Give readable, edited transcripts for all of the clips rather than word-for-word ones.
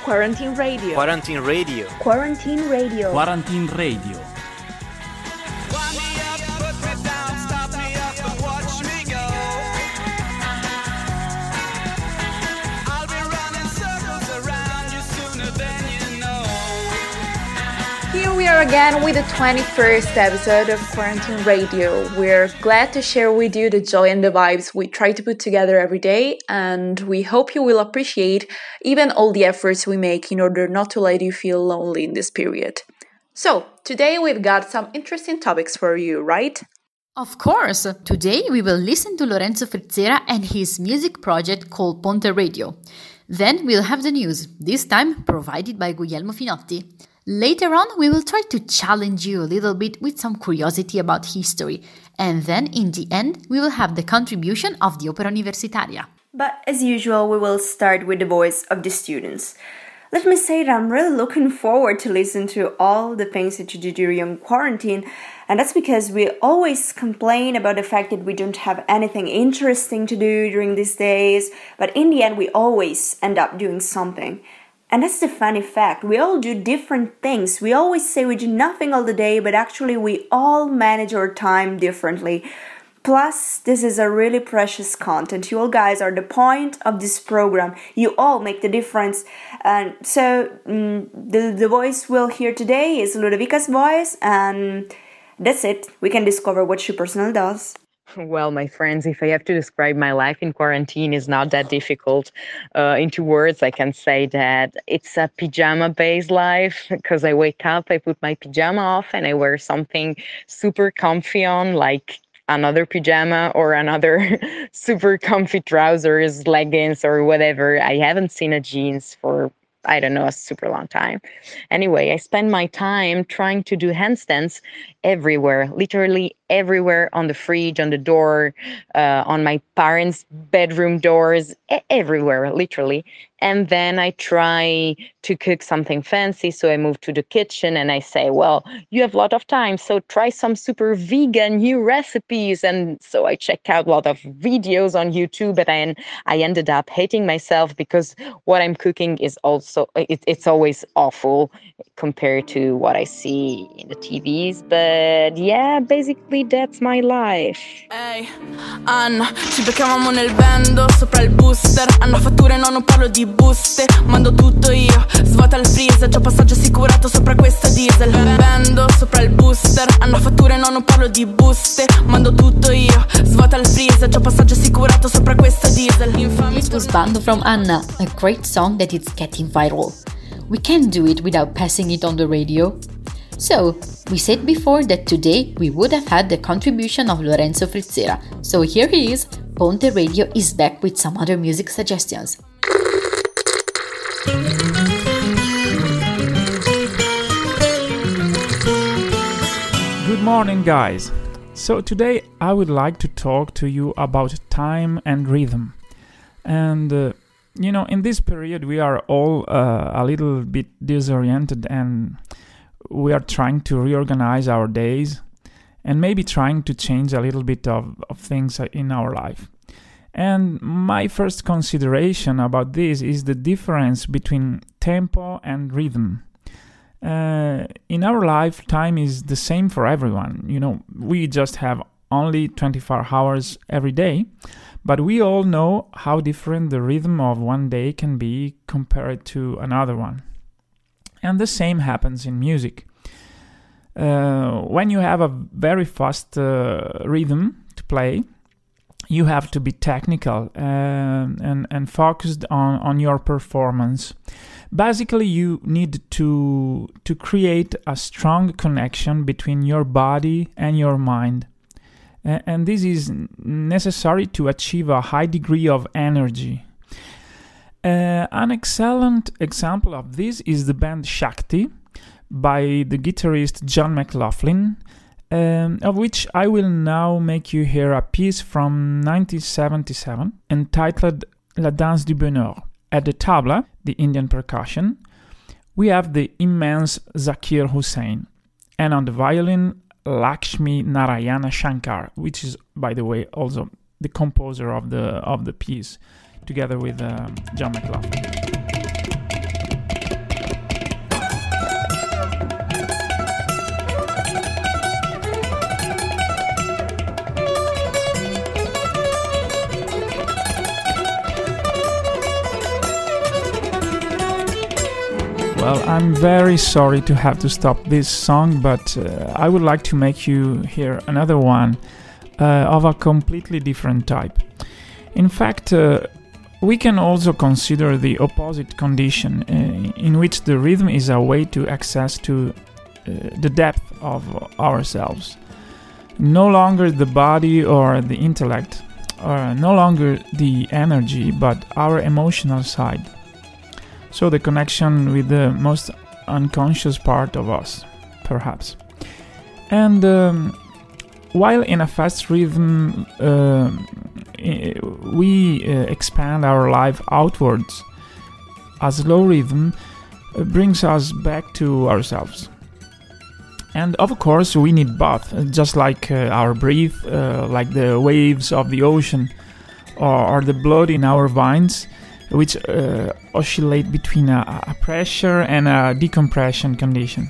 Quarantine Radio. Quarantine Radio. Quarantine Radio. Quarantine Radio. Here we are again with the 21st episode of Quarantine Radio. We're glad to share with you the joy and the vibes we try to put together every day, and we hope you will appreciate even all the efforts we make in order not to let you feel lonely in this period. So, today we've got some interesting topics for you, right? Of course! Today we will listen to Lorenzo Frizzera and his music project called Ponte Radio. Then we'll have the news, this time provided by Guglielmo Finotti. Later on, we will try to challenge you a little bit with some curiosity about history. And then, in the end, we will have the contribution of the Opera Universitaria. But as usual, we will start with the voice of the students. Let me say that I'm really looking forward to listen to all the things that you do during quarantine. And that's because we always complain about the fact that we don't have anything interesting to do during these days. But in the end, we always end up doing something. And that's the funny fact. We all do different things. We always say we do nothing all the day, but actually we all manage our time differently. Plus, this is a really precious content. You all guys are the point of this program. You all make the difference. And so the voice we'll hear today is Ludovica's voice. And that's it. We can discover what she personally does. Well, my friends, if I have to describe my life in quarantine, is not that difficult. Into words, I can say that it's a pajama-based life because I wake up, I put my pajama off, and I wear something super comfy on, like another pajama or another super comfy trousers, leggings, or whatever. I haven't seen a jeans for I don't know, a super long time. Anyway, I spend my time trying to do handstands everywhere, literally everywhere, on the fridge, on the door, on my parents' bedroom doors, everywhere, literally. And then I try to cook something fancy. So I move to the kitchen and I say, well, you have a lot of time, so try some super vegan new recipes. And so I check out a lot of videos on YouTube, but I ended up hating myself because what I'm cooking is also, it's always awful compared to what I see in the TVs. But yeah, basically that's my life. Ehi, Anna, ci beccavamo nel bando sopra il booster. Hanno fatture, no, non parlo di buste. Mando tutto io, svuota il freezer. Già passaggio assicurato sopra questa diesel. Bando sopra il booster. Hanno fatture, no, non parlo di buste. Mando tutto io, svuota il freezer. Già passaggio assicurato sopra questa diesel. This was Bando from Anna, a great song that is getting viral. We can't do it without passing it on the radio. So, we said before that today we would have had the contribution of Lorenzo Frizzera. So here he is, Ponte Radio is back with some other music suggestions. Good morning, guys. So today I would like to talk to you about time and rhythm. And in this period we are all a little bit disoriented, and we are trying to reorganize our days and maybe trying to change a little bit of things in our life. And my first consideration about this is the difference between tempo and rhythm. In our life, time is the same for everyone. We just have only 24 hours every day, but we all know how different the rhythm of one day can be compared to another one. And the same happens in music. When you have a very fast rhythm to play, you have to be technical and focused on your performance. Basically, you need to create a strong connection between your body and your mind. And this is necessary to achieve a high degree of energy. An excellent example of this is the band Shakti by the guitarist John McLaughlin, of which I will now make you hear a piece from 1977 entitled La Danse du Bonheur. At the tabla, the Indian percussion, we have the immense Zakir Hussain, and on the violin, Lakshmi Narayana Shankar, which is, by the way, also the composer of the piece, together with John McLaughlin. Well, I'm very sorry to have to stop this song, but I would like to make you hear another one of a completely different type. In fact, we can also consider the opposite condition, in which the rhythm is a way to access to the depth of ourselves. No longer the body or the intellect, or no longer the energy, but our emotional side. So the connection with the most unconscious part of us, perhaps. And while in a fast rhythm we expand our life outwards, a slow rhythm brings us back to ourselves. And of course we need both, just like our breath, like the waves of the ocean, or the blood in our veins, which oscillate between a pressure and a decompression condition.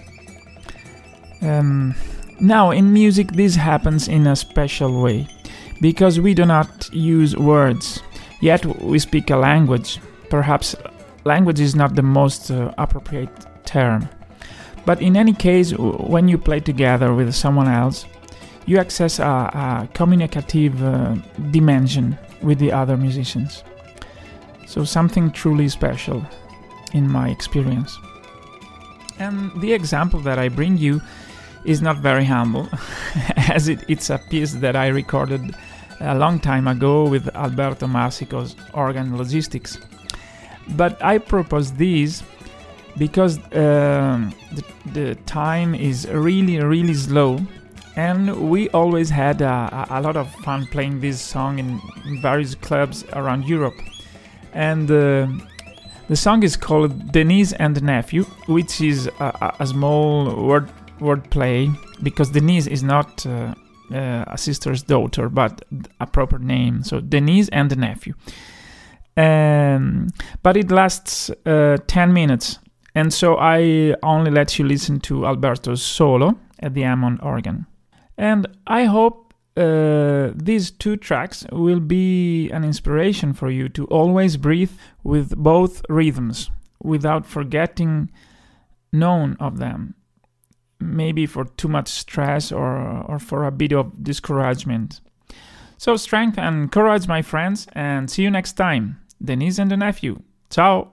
Now, in music, this happens in a special way, because we do not use words, yet we speak a language. Perhaps language is not the most appropriate term. But in any case, when you play together with someone else, you access a communicative dimension with the other musicians. So something truly special, in my experience. And the example that I bring you is not very humble, as it's a piece that I recorded a long time ago with Alberto Marsico's Organ Logistics. But I propose this because the time is really slow, and we always had a lot of fun playing this song in various clubs around Europe. And the song is called Denise and the Nephew, which is a small word play, because Denise is not a sister's daughter, but a proper name. So Denise and the Nephew. But it lasts 10 minutes. And so I only let you listen to Alberto's solo at the Hammond organ. And I hope these two tracks will be an inspiration for you to always breathe with both rhythms, without forgetting none of them. Maybe for too much stress or for a bit of discouragement. So strength and courage, my friends, and see you next time. Denise and the Nephew. Ciao!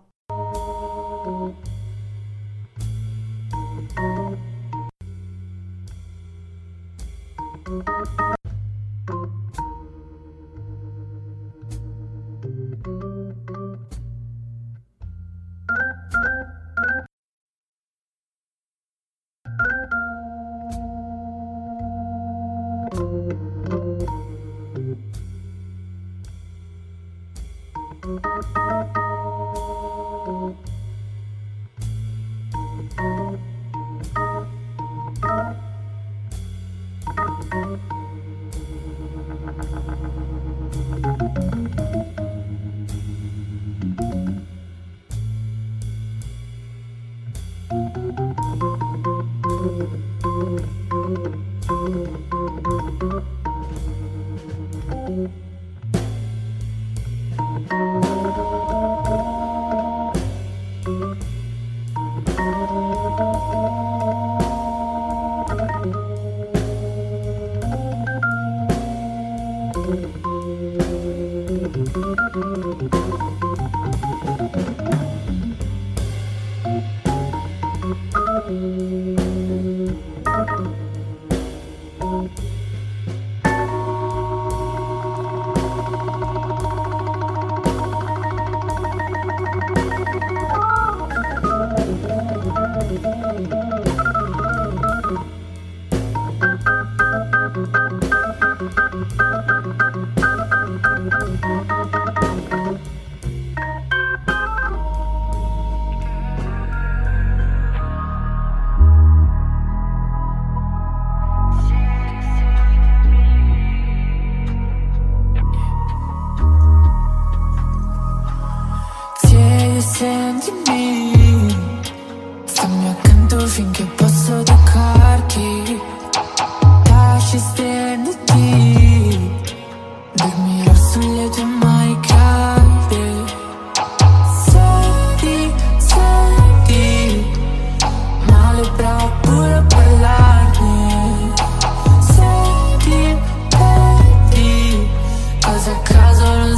Senti,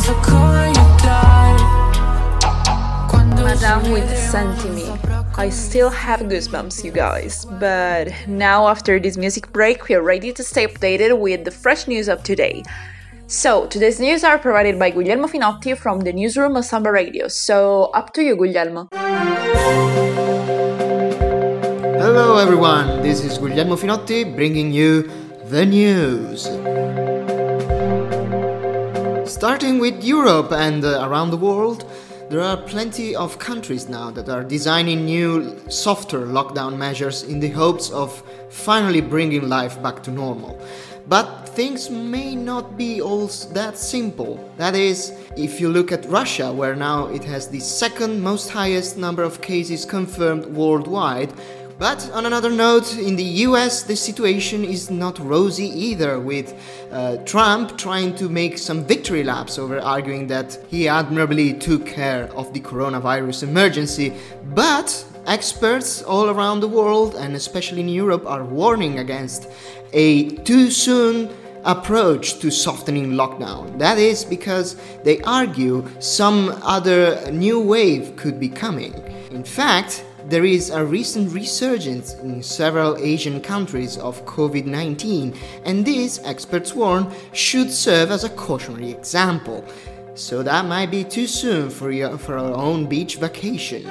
penso come you die. Madame with Sentimi. I still have goosebumps, you guys. But now, after this music break, we are ready to stay updated with the fresh news of today. So, today's news are provided by Guglielmo Finotti from the newsroom of Samba Radio. So, up to you, Guglielmo. Hello everyone, this is Guglielmo Finotti bringing you the news. Starting with Europe and around the world, there are plenty of countries now that are designing new, softer lockdown measures in the hopes of finally bringing life back to normal. But things may not be all that simple. That is, if you look at Russia, where now it has the second most highest number of cases confirmed worldwide. But on another note, in the US the situation is not rosy either, with Trump trying to make some victory laps over arguing that he admirably took care of the coronavirus emergency. But experts all around the world, and especially in Europe, are warning against a too soon approach to softening lockdown. That is because they argue some other new wave could be coming. In fact, there is a recent resurgence in several Asian countries of COVID-19, and this, experts warn, should serve as a cautionary example. So that might be too soon for our own beach vacation.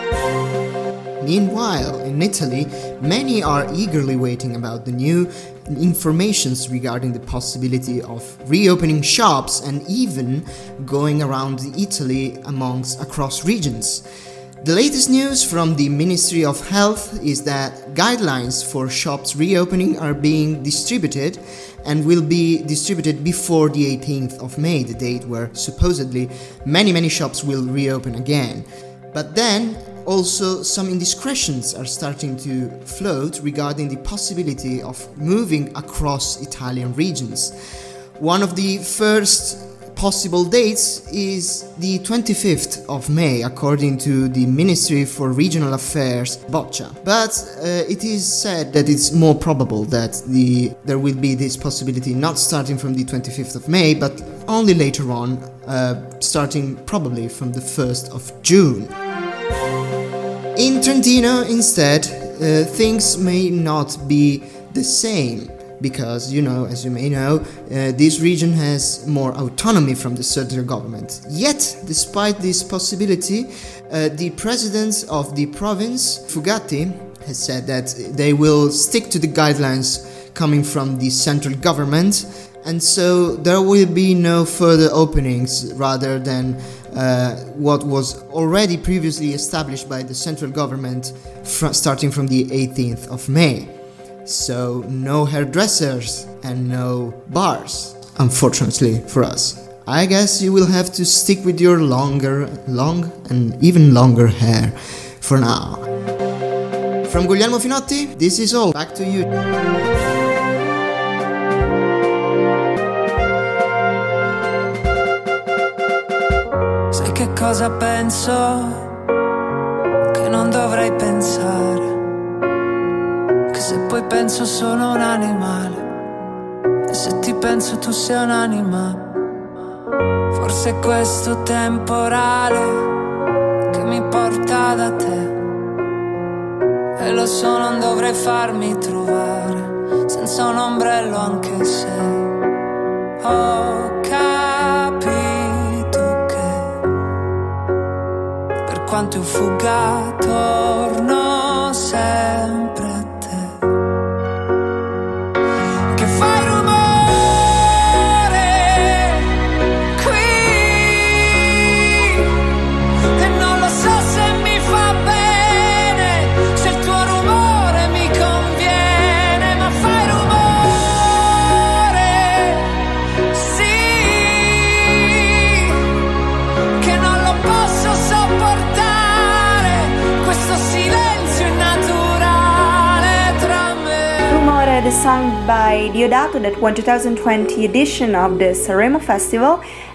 Meanwhile, in Italy, many are eagerly waiting about the new informations regarding the possibility of reopening shops and even going around Italy across regions. The latest news from the Ministry of Health is that guidelines for shops reopening are being distributed and will be distributed before the 18th of May, the date where supposedly many shops will reopen again. But then also some indiscretions are starting to float regarding the possibility of moving across Italian regions. One of the first possible dates is the 25th of May, according to the Ministry for Regional Affairs, Boccia. But it is said that it's more probable that there will be this possibility not starting from the 25th of May, but only later on, starting probably from the 1st of June. In Trentino, instead, things may not be the same. Because, as you may know, this region has more autonomy from the central government. Yet, despite this possibility, the president of the province, Fugatti, has said that they will stick to the guidelines coming from the central government, and so there will be no further openings rather than what was already previously established by the central government starting from the 18th of May. So no hairdressers and no bars, unfortunately for us. I guess you will have to stick with your long and even longer hair for now. From Guglielmo Finotti, this is all. Back to you. Sai che cosa penso? Che non dovrei pensare. Se poi penso sono un animale, e se ti penso tu sei un'anima. Forse è questo temporale che mi porta da te, e lo so non dovrei farmi trovare senza un ombrello, anche se ho capito che per quanto io fugga torno sempre a te. Fai rumore qui e non lo so se mi fa bene, se il tuo rumore mi conviene, ma fai rumore, sì, che non lo posso sopportare, questo silenzio innaturale tra me. Rumore, the song by Diodato that won 2020 edition of the Sanremo Festival,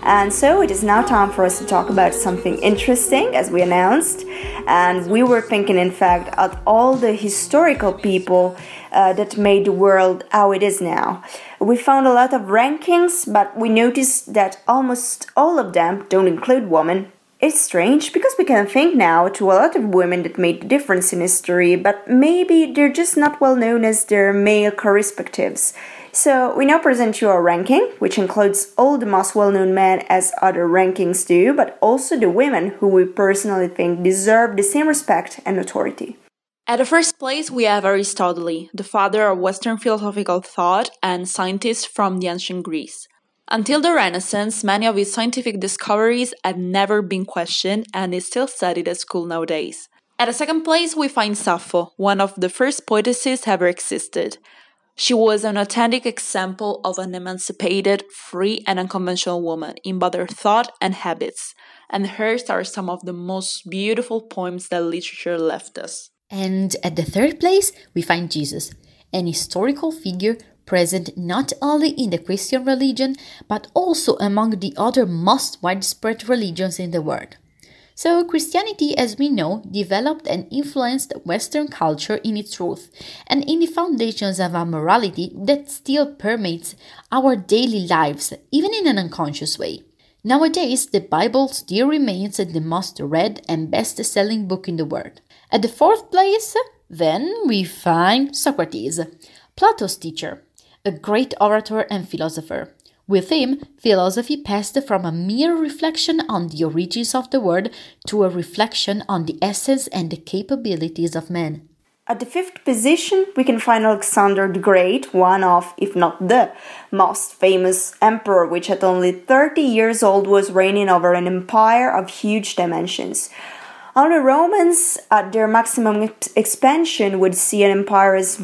And so it is now time for us to talk about something interesting, as we announced. And we were thinking, in fact, of all the historical people that made the world how it is now. We found a lot of rankings, but we noticed that almost all of them don't include women. It's strange because we can think now to a lot of women that made the difference in history, but maybe they're just not well known as their male correspectives. So we now present you our ranking, which includes all the most well-known men as other rankings do, but also the women who we personally think deserve the same respect and authority. At the first place, we have Aristotle, the father of Western philosophical thought and scientist from the ancient Greece. Until the Renaissance, many of his scientific discoveries had never been questioned and is still studied at school nowadays. At the second place, we find Sappho, one of the first poetesses ever existed. She was an authentic example of an emancipated, free, and unconventional woman in both her thought and habits, and hers are some of the most beautiful poems that literature left us. And at the third place, we find Jesus, an historical figure present not only in the Christian religion, but also among the other most widespread religions in the world. So Christianity, as we know, developed and influenced Western culture in its roots and in the foundations of a morality that still permeates our daily lives, even in an unconscious way. Nowadays, the Bible still remains the most read and best-selling book in the world. At the fourth place, then, we find Socrates, Plato's teacher, a great orator and philosopher. With him, philosophy passed from a mere reflection on the origins of the world to a reflection on the essence and the capabilities of man. At the fifth position, we can find Alexander the Great, one of, if not the, most famous emperor, which at only 30 years old was reigning over an empire of huge dimensions. Only Romans, at their maximum expansion, would see an empire as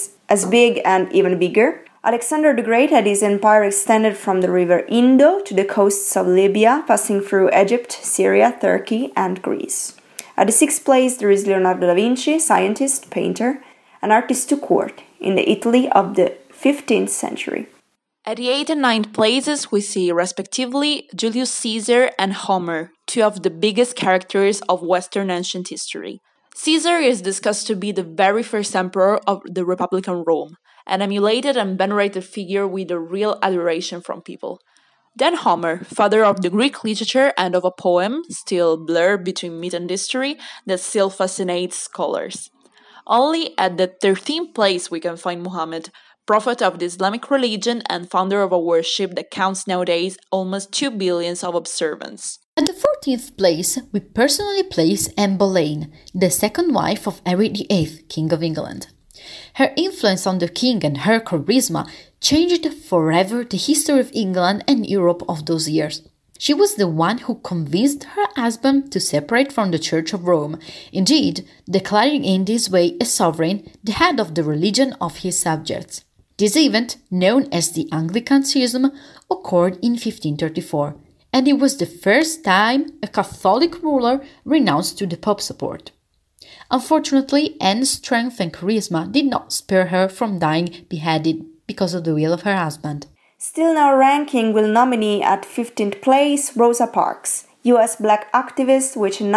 big and even bigger. Alexander the Great had his empire extended from the river Indo to the coasts of Libya, passing through Egypt, Syria, Turkey, and Greece. At the sixth place, there is Leonardo da Vinci, scientist, painter, and artist to court, in the Italy of the 15th century. At the 8th and 9th places, we see, respectively, Julius Caesar and Homer, two of the biggest characters of Western ancient history. Caesar is discussed to be the very first emperor of the Republican Rome, an emulated and venerated figure with a real adoration from people. Then Homer, father of the Greek literature and of a poem, still blurred between myth and history, that still fascinates scholars. Only at the 13th place we can find Muhammad, prophet of the Islamic religion and founder of a worship that counts nowadays almost 2 billion of observants. At the 14th place, we personally place Anne Boleyn, the second wife of Henry VIII, King of England. Her influence on the king and her charisma changed forever the history of England and Europe of those years. She was the one who convinced her husband to separate from the Church of Rome, indeed, declaring in this way a sovereign, the head of the religion of his subjects. This event, known as the Anglican Schism, occurred in 1534, and it was the first time a Catholic ruler renounced to the Pope's support. Unfortunately, Anne's strength and charisma did not spare her from dying beheaded because of the will of her husband. Still in our ranking, we'll nominate at 15th place Rosa Parks, US black activist which in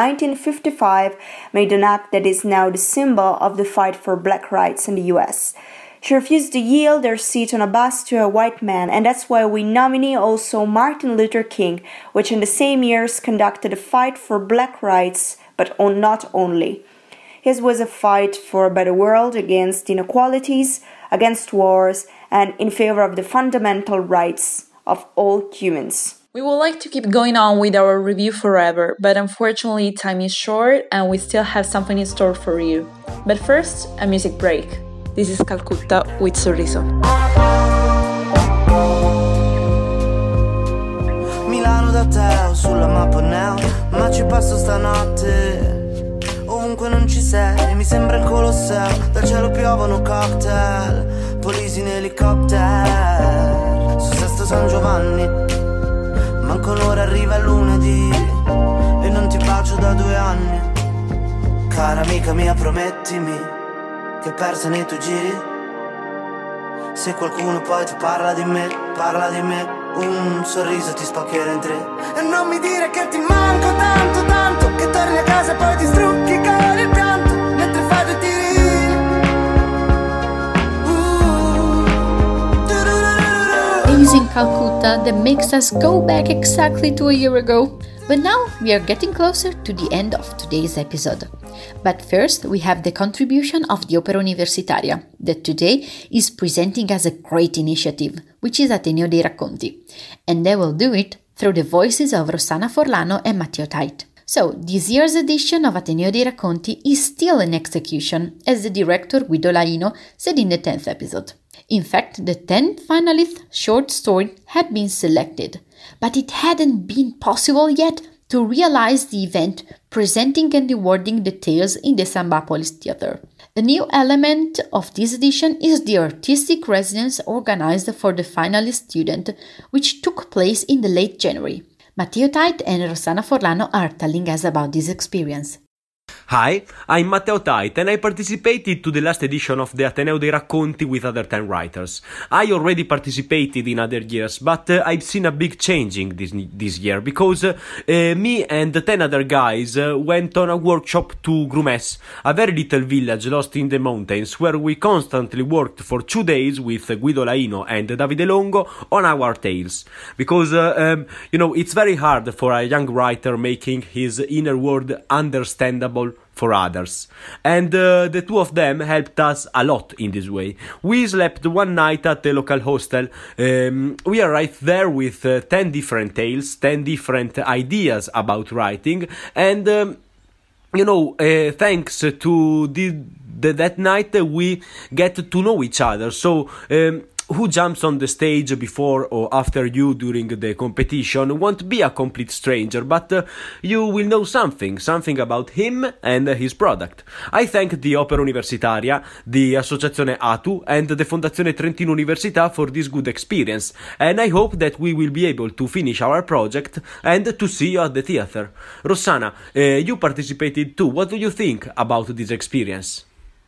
1955 made an act that is now the symbol of the fight for black rights in the US. She refused to yield her seat on a bus to a white man, and that's why we nominate also Martin Luther King, which in the same years conducted a fight for black rights, but not only. His was a fight for a better world against inequalities, against wars, and in favor of the fundamental rights of all humans. We would like to keep going on with our review forever, but unfortunately time is short and we still have something in store for you. But first, a music break. This is Calcutta with Sorriso. Milano da te, sulla mappa now, ma ci passo stanotte. Ovunque non ci sei, mi sembra il Colosseo, dal cielo piovono cocktail, polisi in elicottero, su Sesto San Giovanni, manco un'ora arriva lunedì, e non ti bacio da 2 anni. Cara amica mia, promettimi che persa nei tuoi giri, se qualcuno poi ti parla di me, un sorriso ti spaccherà in tre. E non mi dire che ti manco tanto tanto, che torni a casa e poi ti strucchi con il pianto mentre fai due tiri. Days in Calcutta that makes us go back exactly to a year ago. But now we are getting closer to the end of today's episode. But first we have the contribution of the Opera Universitaria, that today is presenting us a great initiative, which is Ateneo dei Racconti. And they will do it through the voices of Rossana Forlano and Matteo Tait. So, this year's edition of Ateneo dei Racconti is still in execution, as the director Guido Laino said in the 10th episode. In fact, the 10th finalist short story had been selected, but it hadn't been possible yet to realize the event presenting and awarding the tales in the Sambapolis Theatre. A new element of this edition is the artistic residence organized for the finalist student, which took place in the late January. Matteo Tait and Rossana Forlano are telling us about this experience. Hi, I'm Matteo Tait and I participated to the last edition of the Ateneo dei Racconti with other 10 writers. I already participated in other years, but I've seen a big changing this year because me and 10 other guys went on a workshop to Grumes, a very little village lost in the mountains where we constantly worked for 2 days with Guido Laino and Davide Longo on our tales. Because, it's very hard for a young writer making his inner world understandable for others, and the two of them helped us a lot in this way. We slept one night at the local hostel. We arrived there with 10 different tales, 10 different ideas about writing, and thanks to that night we get to know each other. So who jumps on the stage before or after you during the competition won't be a complete stranger, but you will know something about him and his product. I thank the Opera Universitaria, the Associazione ATU, and the Fondazione Trentino Università for this good experience, and I hope that we will be able to finish our project and to see you at the theater. Rossana, you participated too. What do you think about this experience?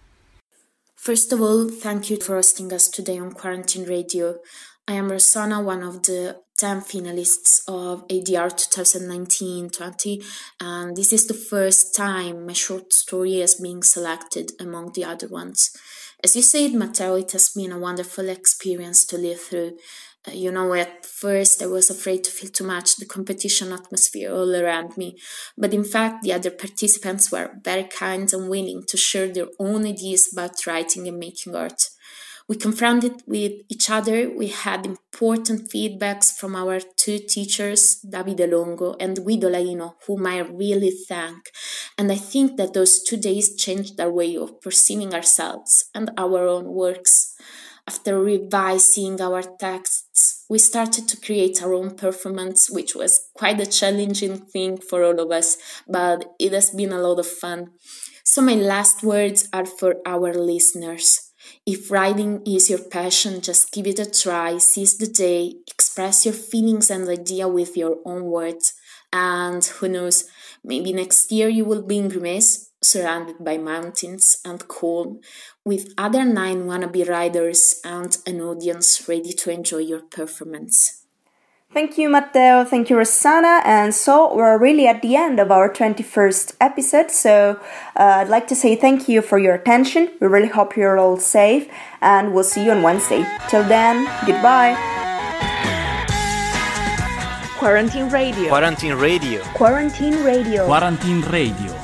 First of all, thank you for hosting us today on Quarantine Radio. I am Rossana, one of the 10 finalists of ADR 2019-20, and this is the first time my short story is being selected among the other ones. As you said, Matteo, it has been a wonderful experience to live through. At first I was afraid to feel too much the competition atmosphere all around me, but in fact the other participants were very kind and willing to share their own ideas about writing and making art. We confronted with each other, we had important feedbacks from our two teachers, Davide Longo and Guido Laino, whom I really thank, and I think that those 2 days changed our way of perceiving ourselves and our own works. After revising our texts, we started to create our own performance, which was quite a challenging thing for all of us, but it has been a lot of fun. So my last words are for our listeners. If writing is your passion, just give it a try, seize the day, express your feelings and idea with your own words. And who knows, maybe next year you will be in Grumes, surrounded by mountains and calm, with other 9 wannabe riders and an audience ready to enjoy your performance. Thank you, Matteo. Thank you, Rossana. And so we're really at the end of our 21st episode. So I'd like to say thank you for your attention. We really hope you're all safe, and we'll see you on Wednesday. Till then, goodbye. Quarantine Radio. Quarantine Radio. Quarantine Radio. Quarantine Radio.